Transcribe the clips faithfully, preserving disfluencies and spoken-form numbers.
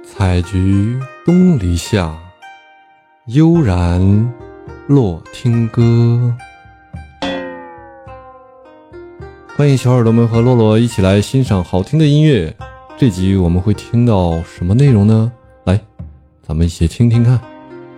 采菊东篱下，悠然落听歌。欢迎小耳朵们和洛洛一起来欣赏好听的音乐。这集我们会听到什么内容呢？来，咱们一起听听看。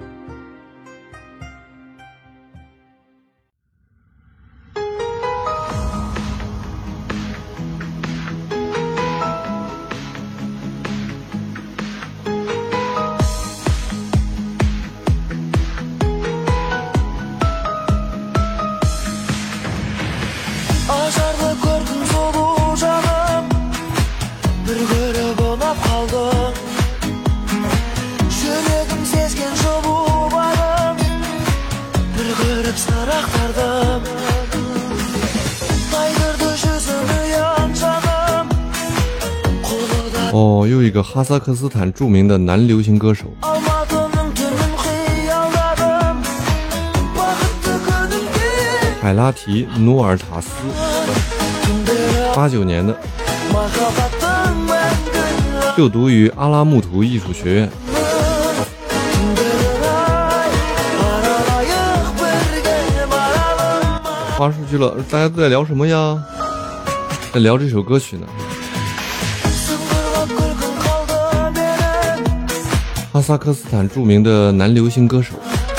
哦，又一个哈萨克斯坦著名的男流行歌手，海拉提·努尔塔斯，八九年的，就读于阿拉木图艺术学院。话出去了，大家都在聊什么呀？在聊这首歌曲呢。哈萨克斯坦著名的男流行歌手，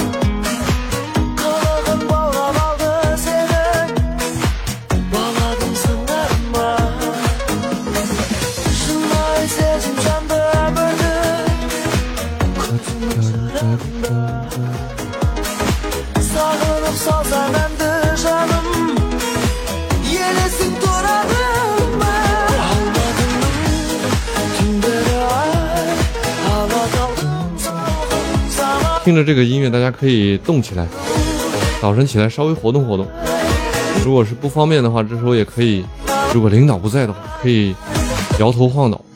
听着这个音乐，大家可以动起来，早晨起来稍微活动活动。如果是不方便的话，这时候也可以，如果领导不在的话，可以摇头晃脑。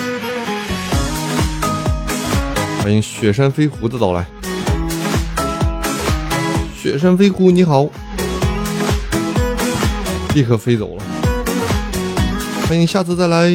欢迎雪山飞狐的到来。雪山飞狐你好，立刻飞走了。欢迎下次再来。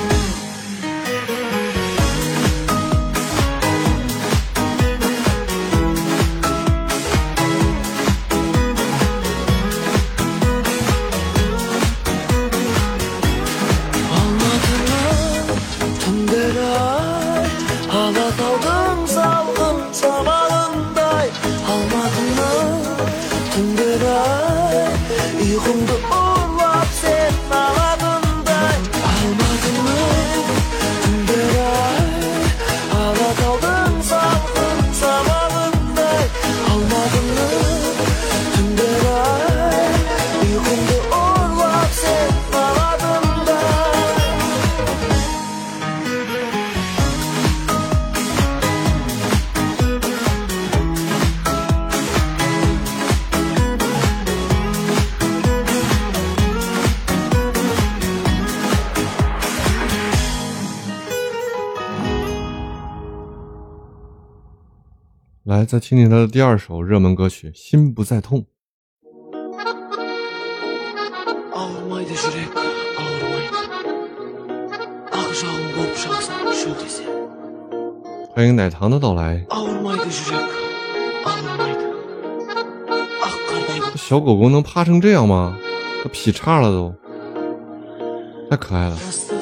来，再听听他的第二首热门歌曲《心不再痛》。欢迎奶糖的到来。小狗狗能趴成这样吗？都劈叉了都，太可爱了。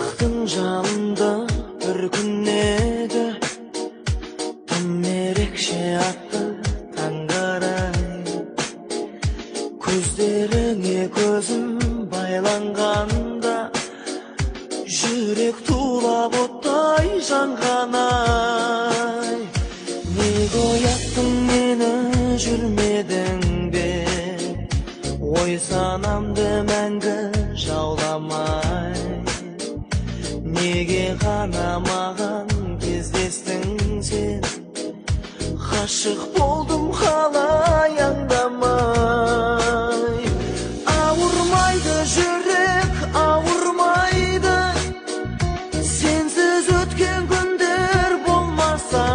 Aşık oldum hala yandamay. Ağırmaydı yürek, ağırmaydı. Sensiz ötken günler olmasa.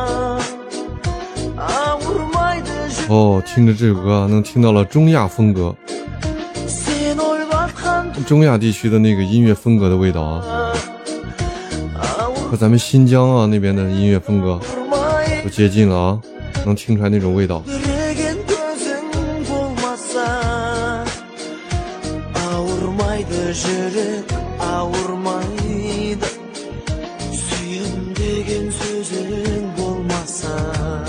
Ağırmaydı yürek. 哦，听着这首歌能听到了中亚风格，中亚地区的那个音乐风格的味道啊。 和咱们新疆啊那边的音乐风格 Vurmayı 都接近了啊，能听出来那种味道。 Yüreğin gözün bulmasa Ağurmaydı yürek ağurmaydı Suyum degen sözün bulmasa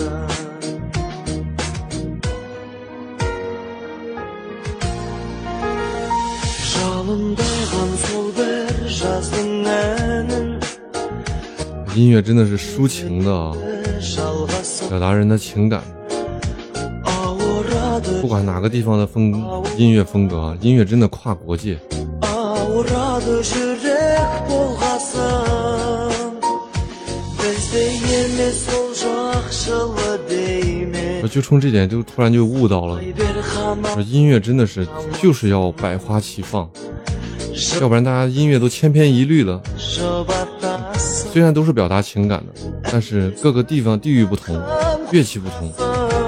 Жалындаған сол бір жаздың әнін 音乐真的是抒情的啊， жалғасып 表达人的情感。 ауырады 不管哪个地方的风音乐风格啊，音乐真的跨国界。 ауырады жүрек болғасын бізде емес сол жақшылы деймін 我就冲这点就突然就悟到了， бер ғана 说音乐真的是就是要百花齐放，要不然大家音乐都千篇一律了。 жұбатасың 虽然都是表达情感的，但是各个地方地域不同，乐器不同，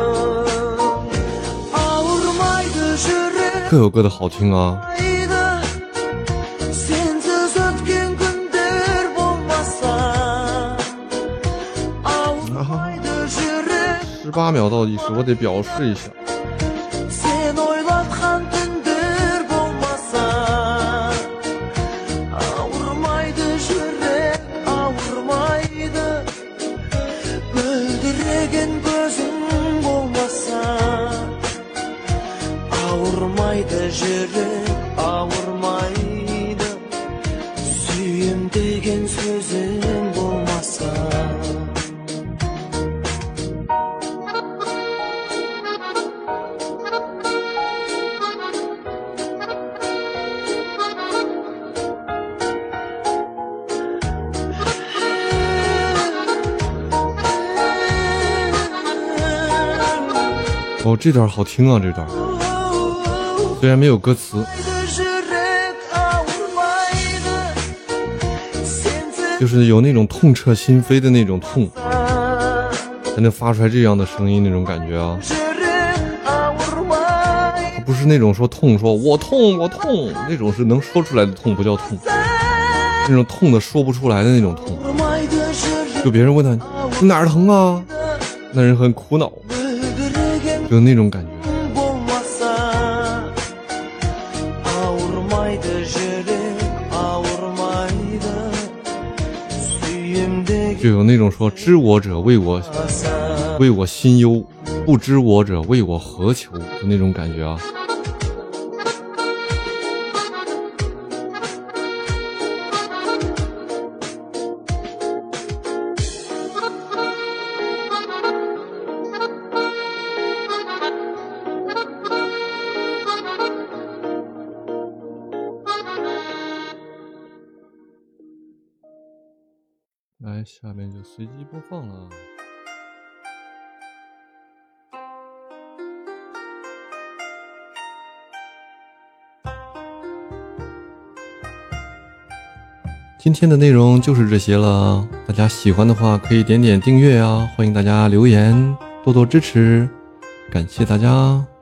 ауырмайды жүрек 各有各的好听啊。 сенсіз өткен күндер болмаса ауырмайды жүрек 十八秒倒计时，我得表示一下。 сен ойлатқан түндер болмаса ауырмайды жүрек ауырмайды мөлдіреген көзің болмаса ауырмайды жүрек ауырмайды сүйем деген сөзің болмаса 哦，这段好听啊，这段虽然没有歌词，就是有那种痛彻心扉的那种痛，才能发出来这样的声音，那种感觉啊。它不是那种说痛，说我痛我痛，那种是能说出来的痛，不叫痛，那种痛的说不出来的那种痛。就别人问他你哪儿疼啊，那人很苦恼，就那种感觉。就有那种说知我者为我为我心忧，不知我者为我何求的那种感觉啊。来，下面就随机播放了。今天的内容就是这些了，大家喜欢的话可以点点订阅啊，欢迎大家留言，多多支持，感谢大家。